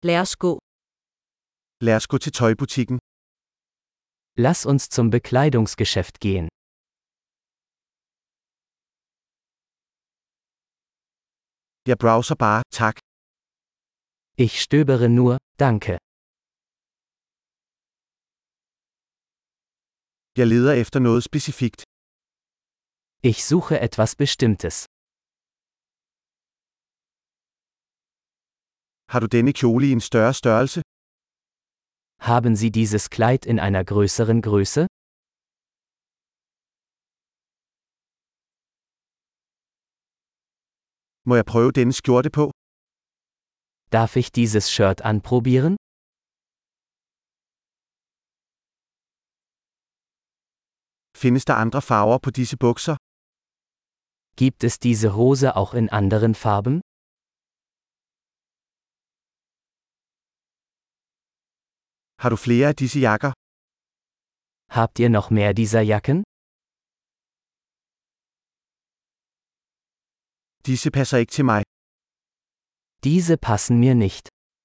Lad os gå. Lad os gå til tøjbutikken. Lass uns zum Bekleidungsgeschäft gehen. Jeg browser bare, tak. Ich stöbere nur, danke. Jeg leder efter noget specifikt. Ich suche etwas Bestimmtes. Har du denne kjole i en større størrelse? Haben Sie dieses Kleid in einer größeren Größe? Må jeg prøve denne skjorte på? Darf ich dieses Shirt anprobieren? Findes der andre farver på disse bukser? Gibt es diese Hose auch in anderen Farben? Har du flere af disse jakker? Habt ihr noch mehr dieser Jacken? Disse passer ikke til mig. Diese passen mir nicht.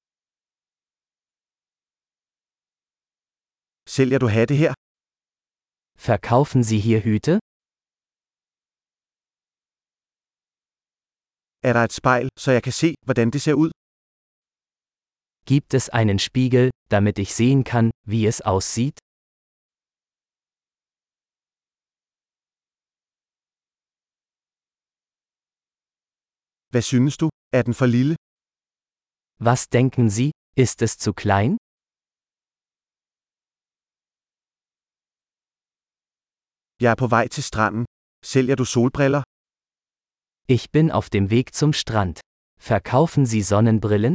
Sælger du hatte her? Verkaufen Sie hier Hüte? Er der et spejl, så jeg kan se, hvordan det ser ud? Gibt es einen Spiegel, damit ich sehen kann, wie es aussieht? Hvad synes du? Er den for lille? Was denken Sie, ist es zu klein? Jeg er på vej til stranden. Sælger du solbriller? Ich bin auf dem Weg zum Strand. Verkaufen Sie Sonnenbrillen?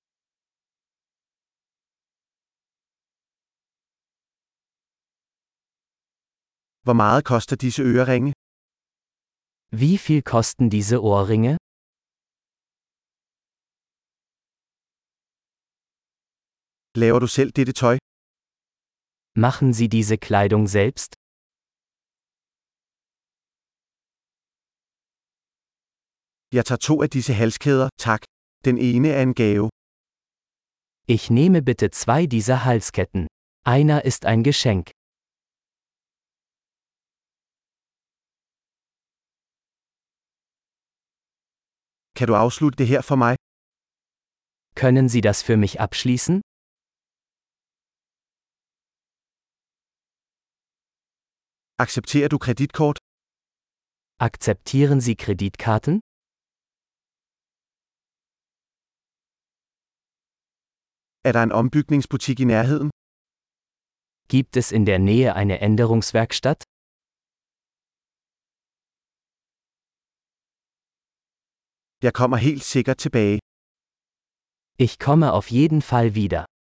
Hvor meget koster disse øreringe? Wie viel kosten diese Ohrringe? Laver du selv dette tøj? Machen Sie diese Kleidung selbst? Jeg tager 2 af disse halskæder, tak. Den ene er en gave. Ich nehme bitte 2 dieser Halsketten. Einer ist ein Geschenk. Kan du afslutte det her for mig? Können Sie das für mich abschließen? Accepterer du kreditkort? Akzeptieren Sie Kreditkarten? Er der en ombygningsbutik i nærheden? Gibt es in der Nähe eine Änderungswerkstatt? Jeg kommer helt sikkert tilbage. Ich komme auf jeden Fall wieder.